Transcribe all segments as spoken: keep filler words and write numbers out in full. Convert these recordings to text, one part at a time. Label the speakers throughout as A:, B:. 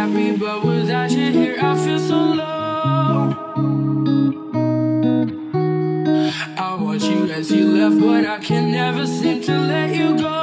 A: happy, but without you here, I feel so low. I watch you as you left, but I can never seem to let you go.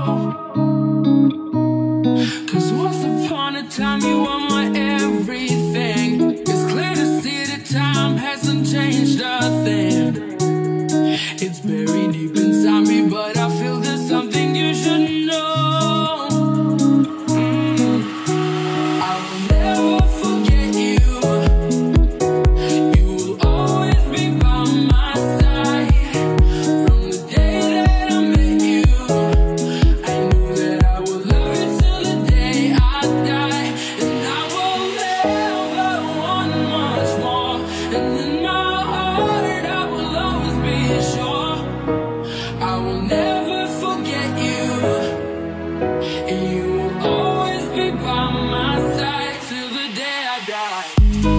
A: Cause once upon a time, you were my everything. It's clear to see that time hasn't changed a thing. It's buried deep inside me, but I feel there's something you should know. Mm. I will never forget you. You will always be by my side. From the day that I met you, I knew that I would love you till the day I die. And I will never want much more. And in my heart, I will always be sure. I will never forget you, and you will always be by my side till the day I die.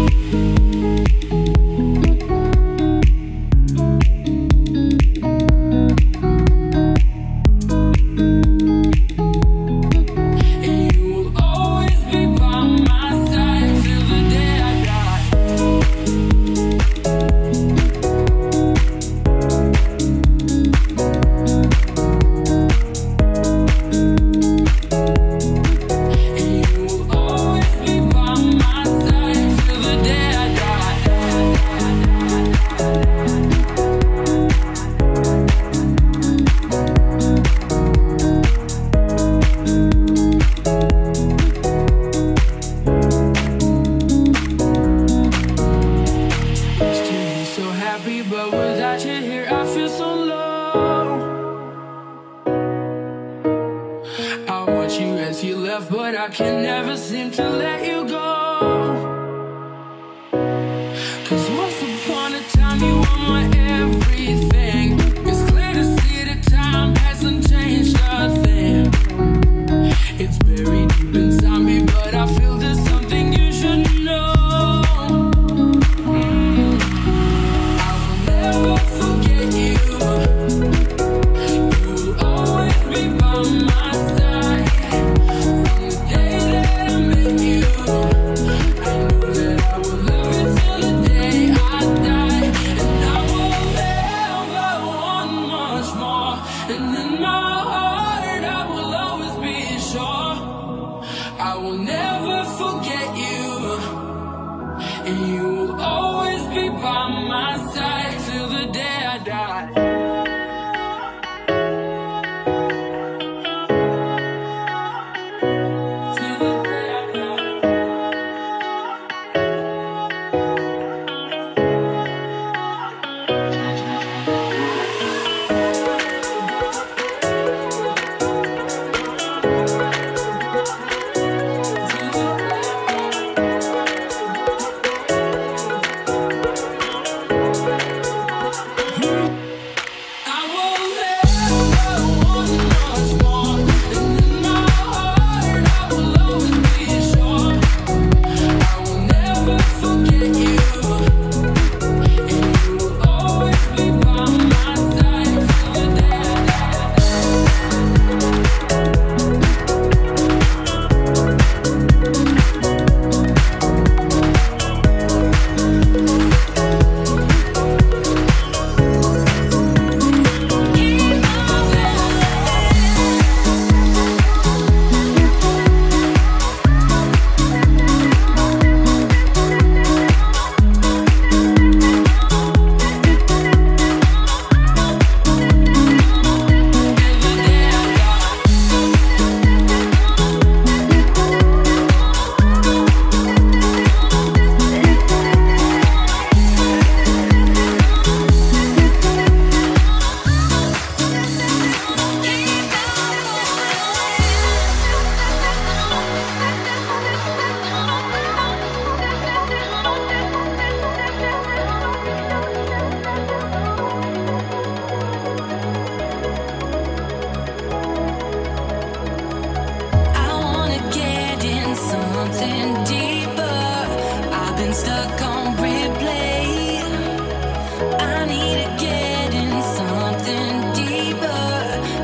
A: And you will always be by my side till the day I die. But without you here, I feel so low. I watch you as you left, but I can never seem to let you go. Cause once upon a time, you were my everything. It's clear to see that time hasn't changed a thing. It's buried deep inside me, but I feel there's something you should know. Never forget you. You will always be by my side. From the day that I met you, I knew that I would love you till the day I die. And I will never want much more. And in my heart, I will always be sure. I will never forget you, and you will always be by my side till the day I die. Till the day I die.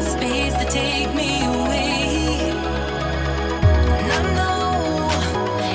B: Take me away, and I know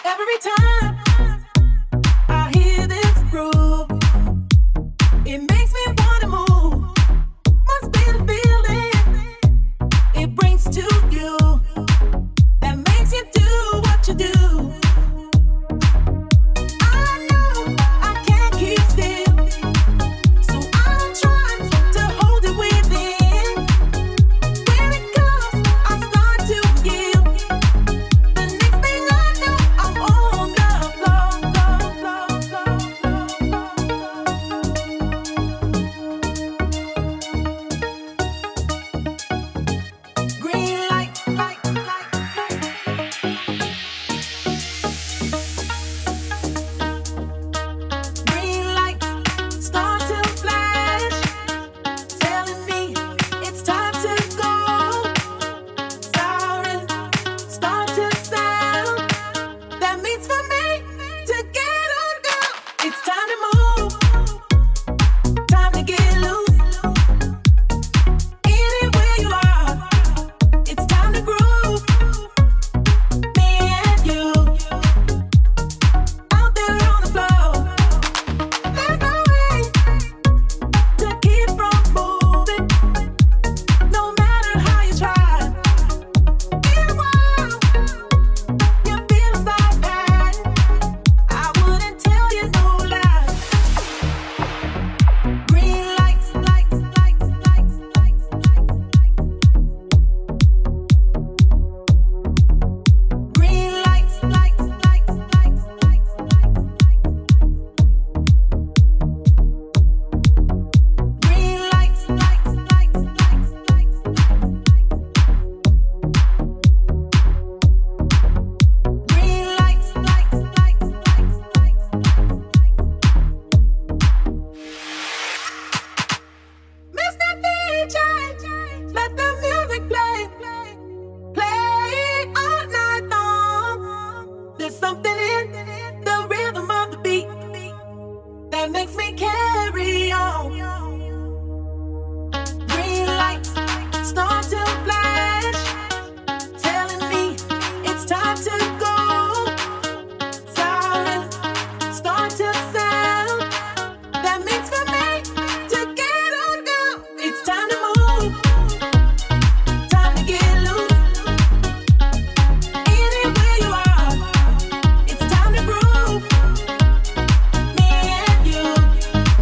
B: Every time I hear this groove, it makes me wanna move. Must be the feeling it brings to you that makes you do what you do. I know I can't keep still, so I'll try to hold it within. When it comes, I start to yield. The next thing I know, I'm on the floor, floor, floor, floor. Green light, light, light. Green lights start to flash, telling me it's time to go. Sirens start to sound. That means for me to get on go. It's time to move, time to get loose. Anywhere you are, it's time to groove. Me and you out there on the floor. There's no way to keep from moving, no matter how you try. In a while, you feel a start pattern. I wouldn't tell you no lie. Green lights, lights, lights, lights, lights, lights, green lights, lights, lights, lights, lights, green lights, lights, lights, lights, lights, green lights, lights, lights, lights, Mister D J, let the music play, play all night long. There's something in the rhythm of the beat that makes me carry on. Green lights start to flash, telling me it's time to go. Sirens start to sound. That means for me to get on go. It's time to move, time to get loose. Anywhere you are, it's time to groove. Me and you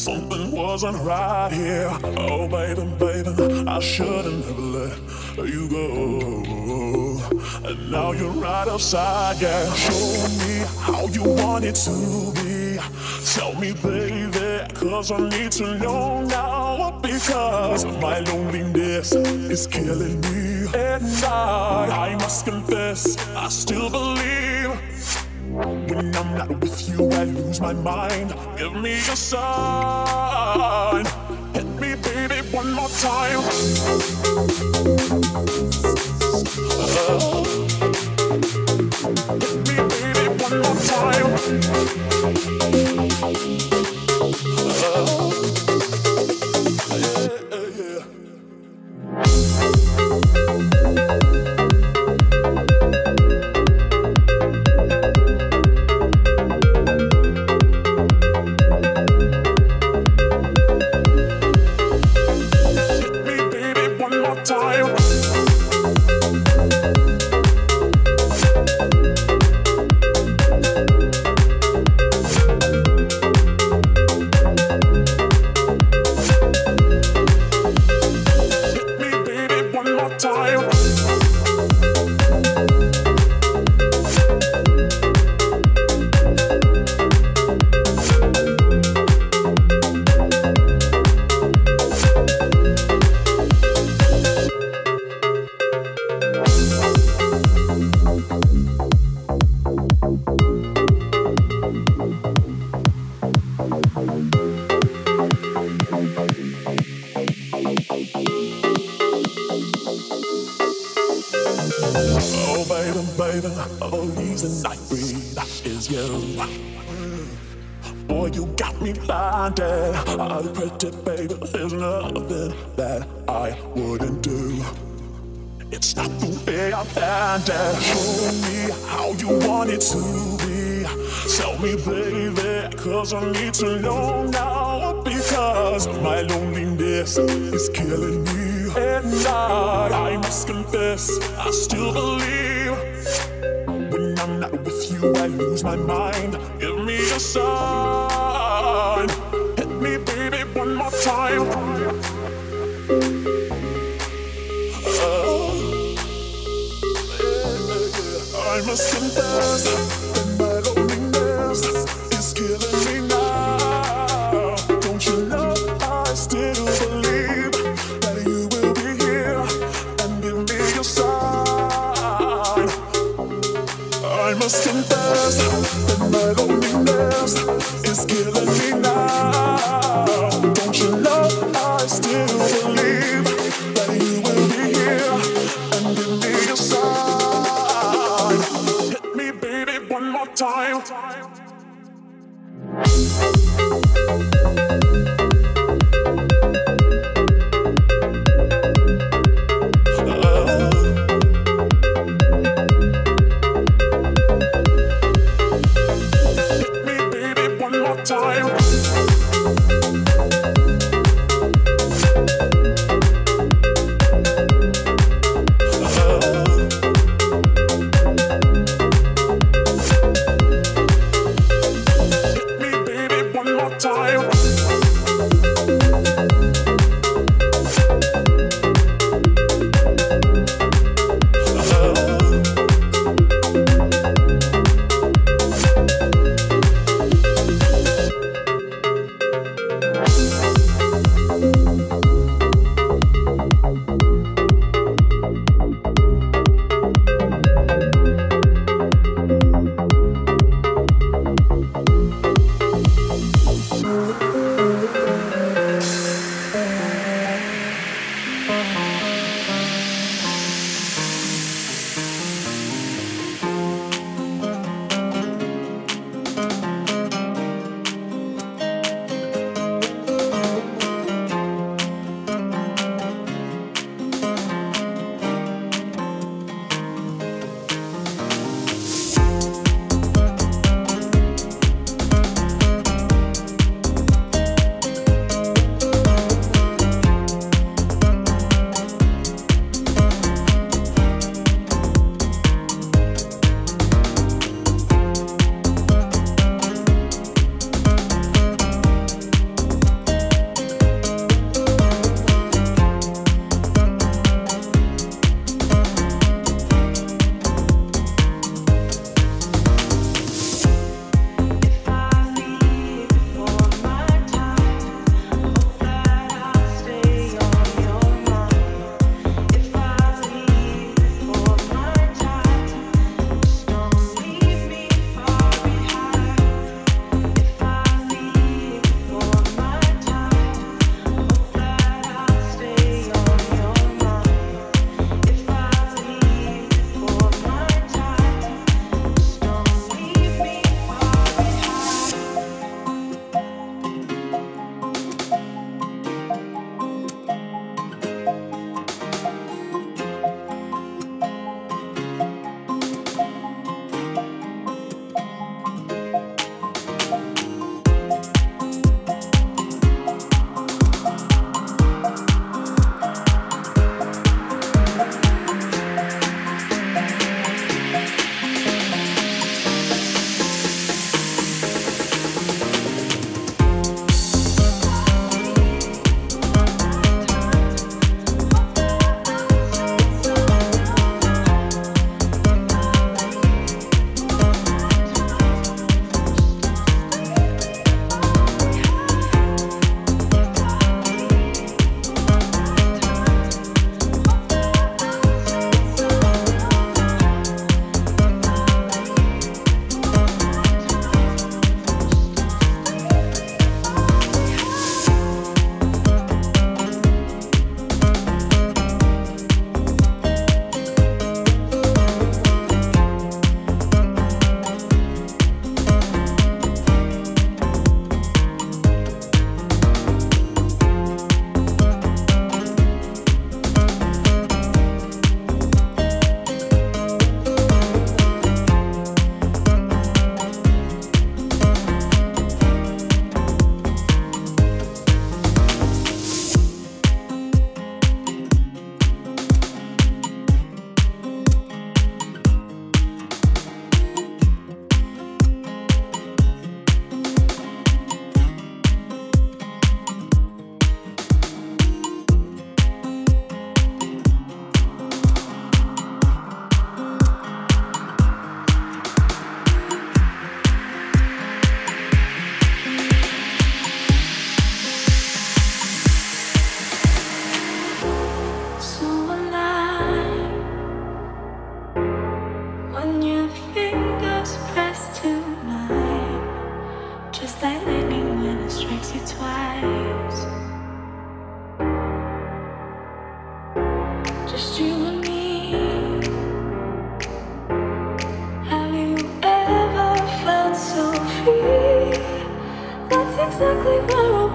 C: Something wasn't right here. Oh, baby, baby, I shouldn't have let you go. And now you're right outside, yeah. Show me how you want it to be. Tell me, baby, cause I need to know now. Because my loneliness is killing me. And I, I must confess, I still believe. When I'm not with you, I lose my mind. Give me a sign. Hit me, baby, one more time. Uh, hit me, baby, one more time. Uh, yeah, yeah, yeah. Boy, you got me blinded. I'm pretty, baby. There's nothing that I wouldn't do. It's not the way I planned it. Show me how you want it to be. Tell me, baby, cause I need to know now. Because my loneliness is killing me. And I, I must confess, I still believe. When I'm not with you, I lose my mind. Give me a sign. Hit me, baby, one more time. Uh, I must confess that my loneliness is killing me now. Don't you know I still believe that you will be here and give me a sign. I must confess that my loneliness is killing me now. Don't you know I still believe that you will be here and give me a sign. Hit me, baby, one more time. Time.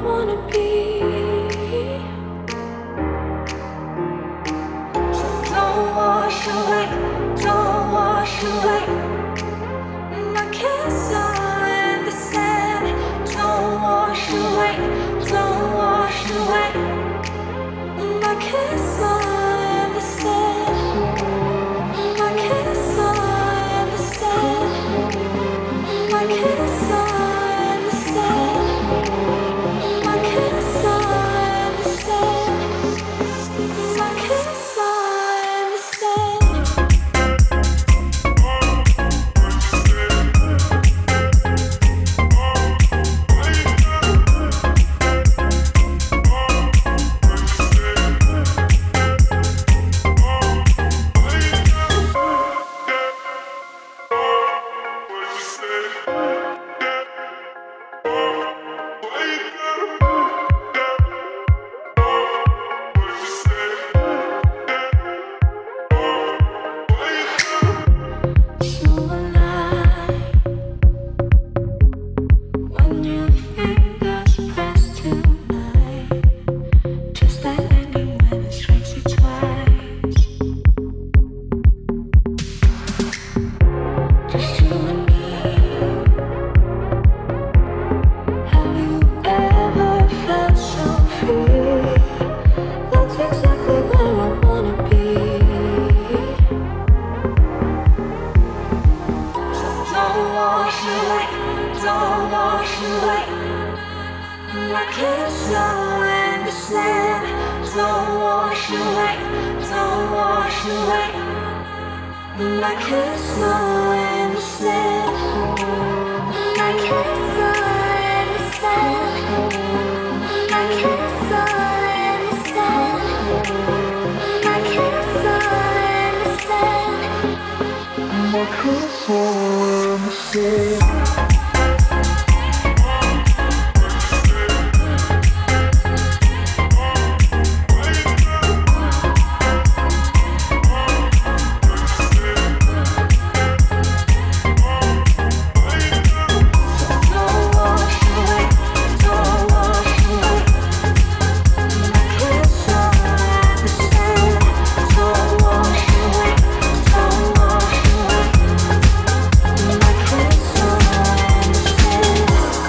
B: wanna be. So don't wash away, don't wash away my castle in the sand. Don't wash away, don't wash away my castle in the sand. My castle in the sand. My castle in the sand. My castle in the sand. My castle in the sand. So alive when your fingers press tonight, just like lightning when it strikes you twice. Just you and me. Have you ever felt so free? That's exactly where I wanna be. So don't wash away, don't wash away my castle in the sand. Don't wash away, don't wash away my castle in the sand. My castle in the sand. My castle in the sand. My castle in the sand. My castle in the sand. Don't wash away, don't wash away my castle in the sand. Don't wash away, don't wash away my castle in the sand.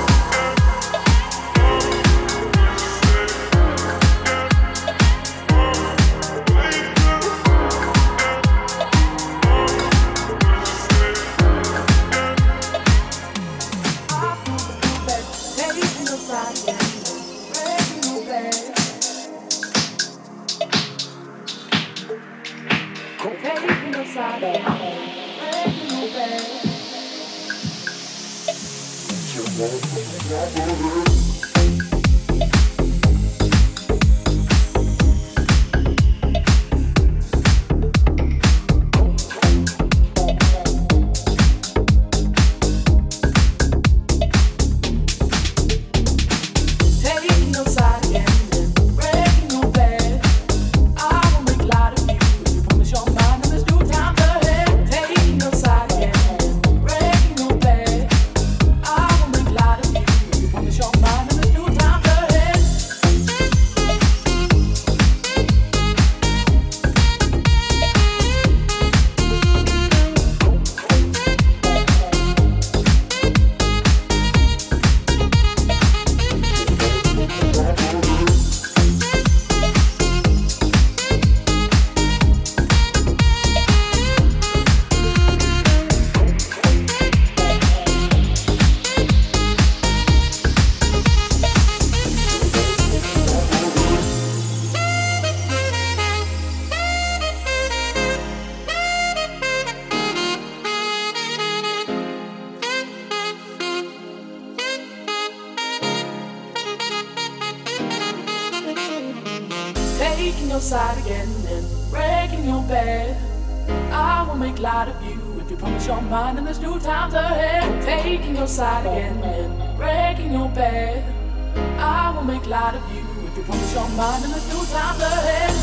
B: Taking your side again and breaking your bed. I will make light of you if you promise your mind and there's no time ahead. Taking your side again and breaking your bed. I will make light of you if you promise your mind and there's no time ahead. Taking your side again and breaking your bed. I will make light of you if you promise your mind and there's new times ahead. Taking your side again and breaking your bed. I will make light of you if you promise your mind and there's new times ahead.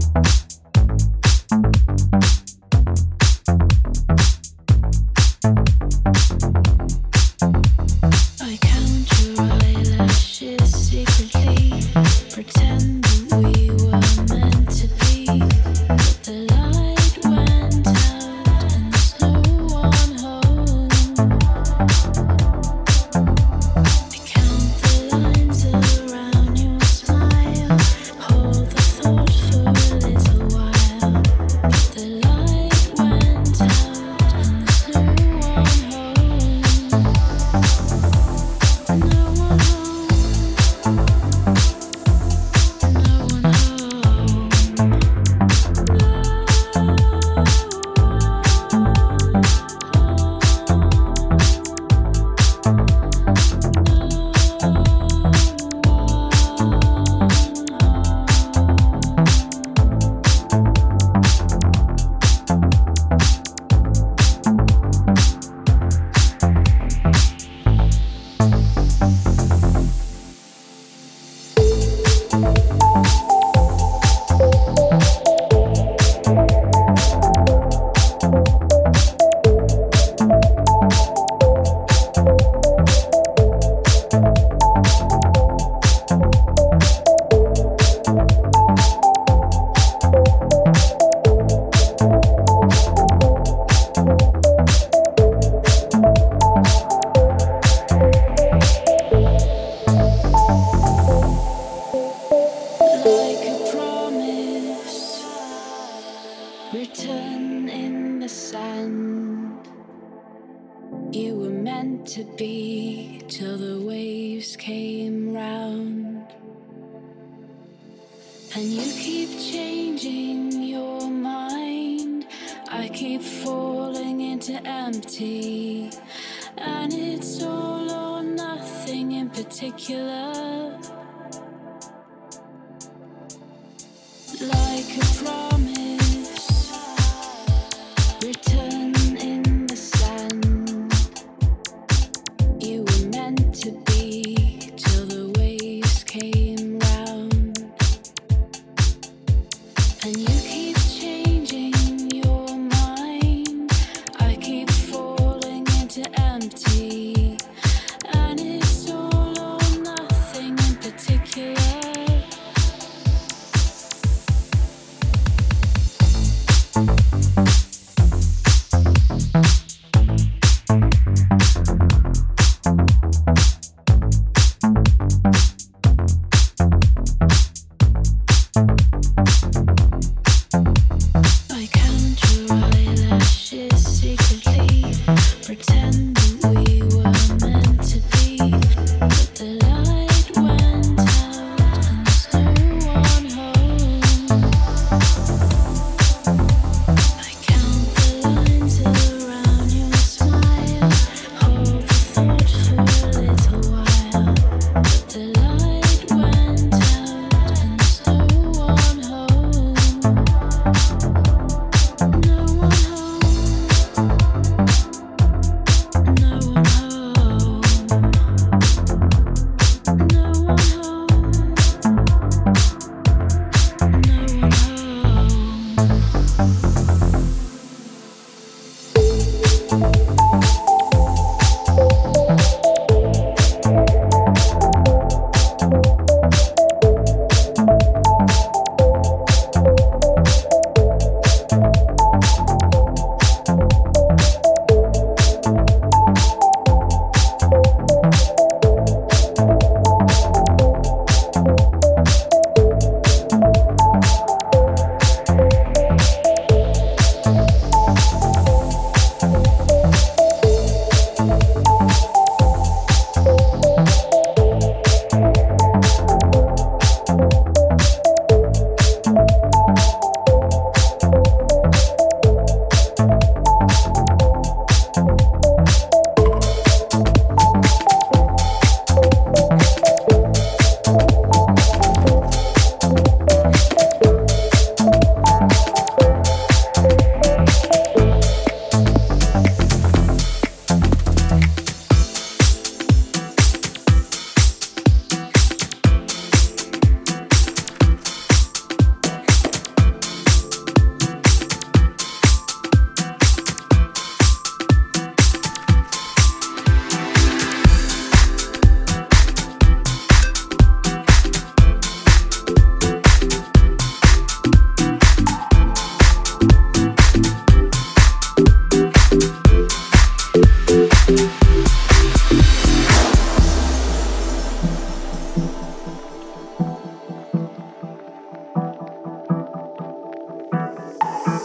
D: I can't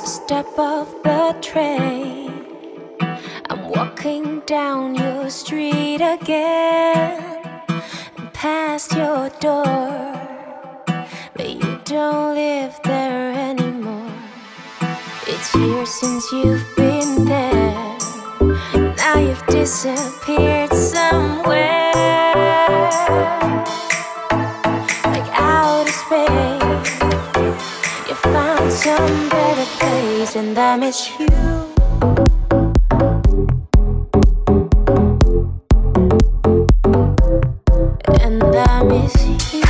D: step off the train. I'm walking down your street again, and past your door, but you don't live there anymore. It's years since you've been there. Now you've disappeared somewhere, like outer space. You found some better place, and I miss you. And I miss you.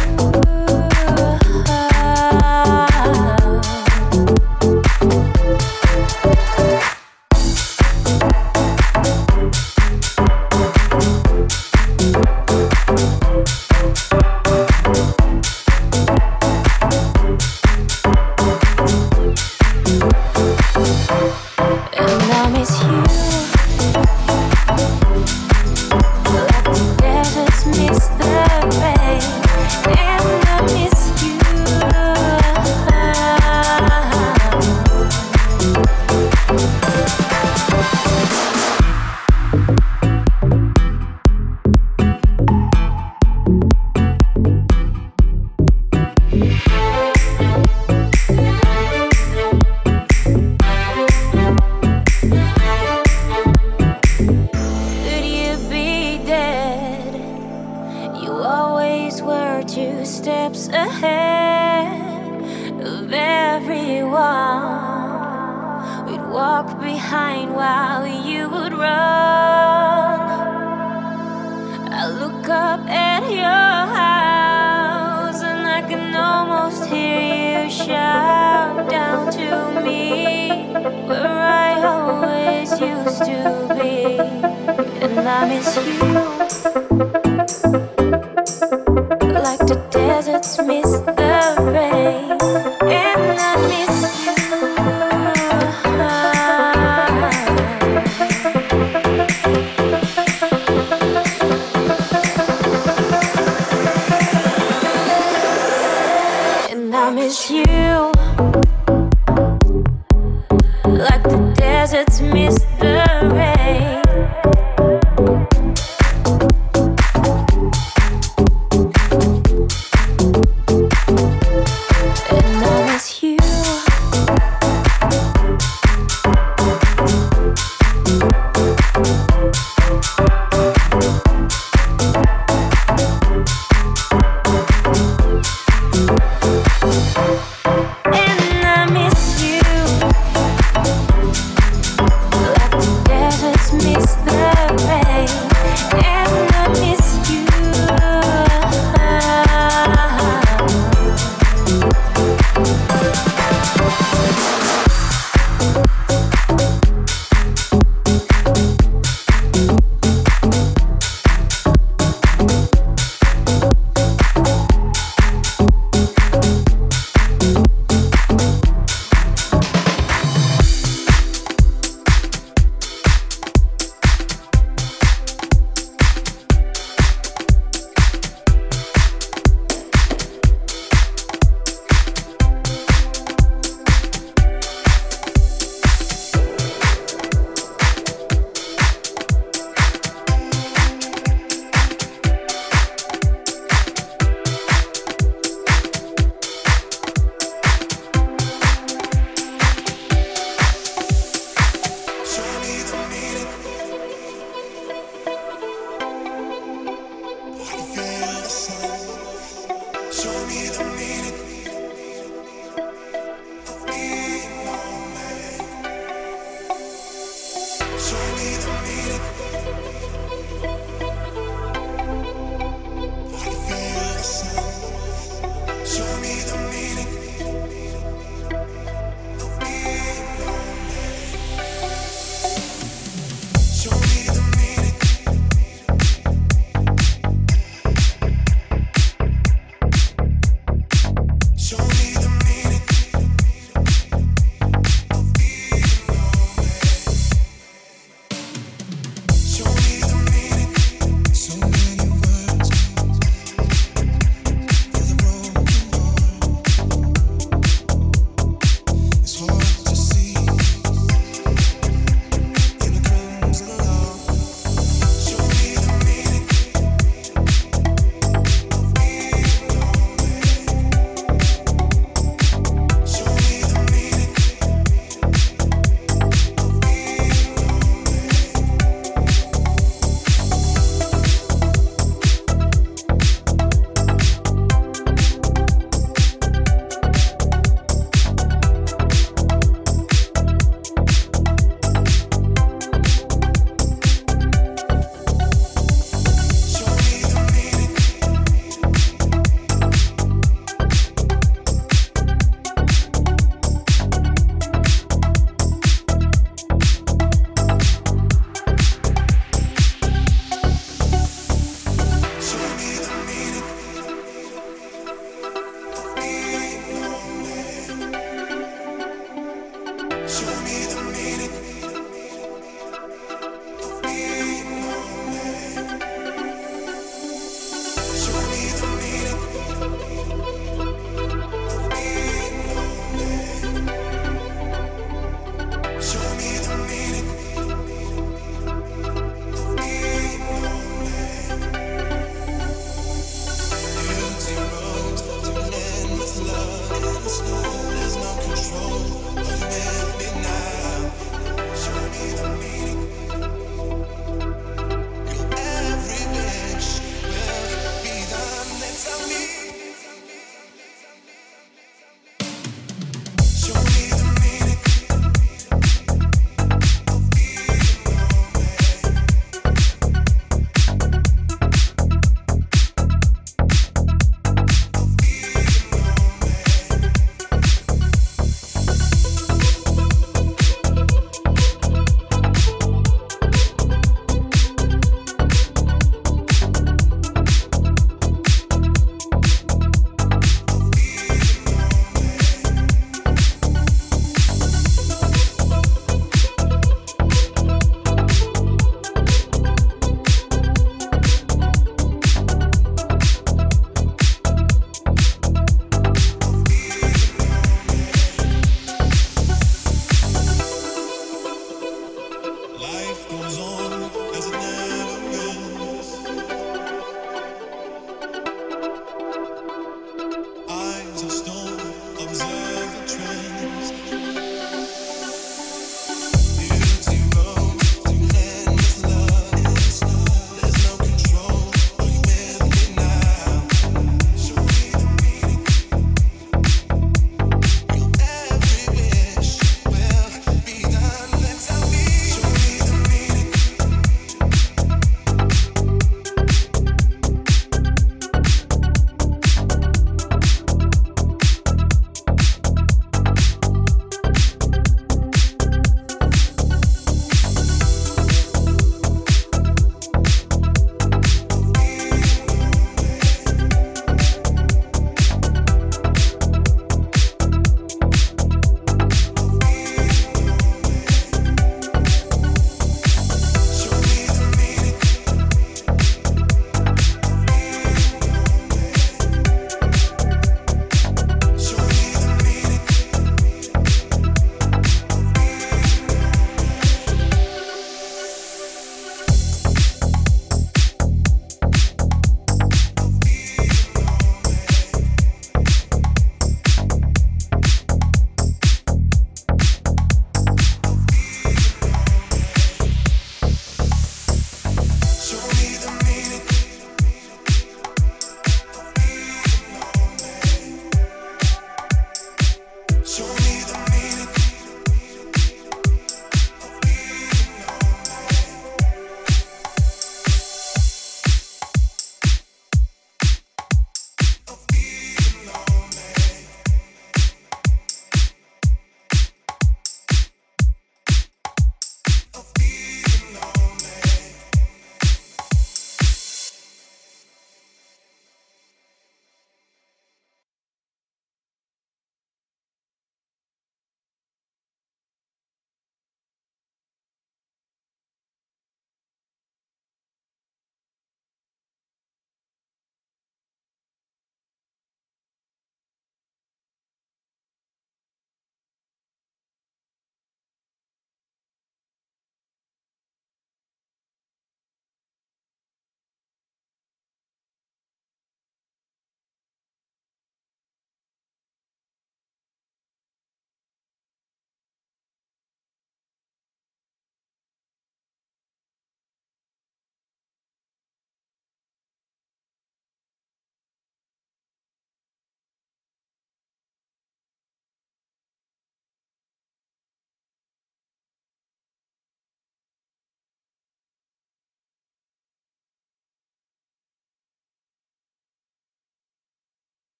D: I miss you, like the deserts miss